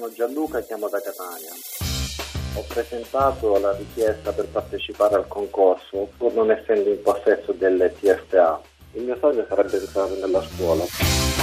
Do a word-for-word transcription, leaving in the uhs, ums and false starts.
sono Gianluca e chiamo da Catania. Ho presentato la richiesta per partecipare al concorso pur non essendo in possesso delle T S A. Il mio sogno sarebbe entrare nella scuola.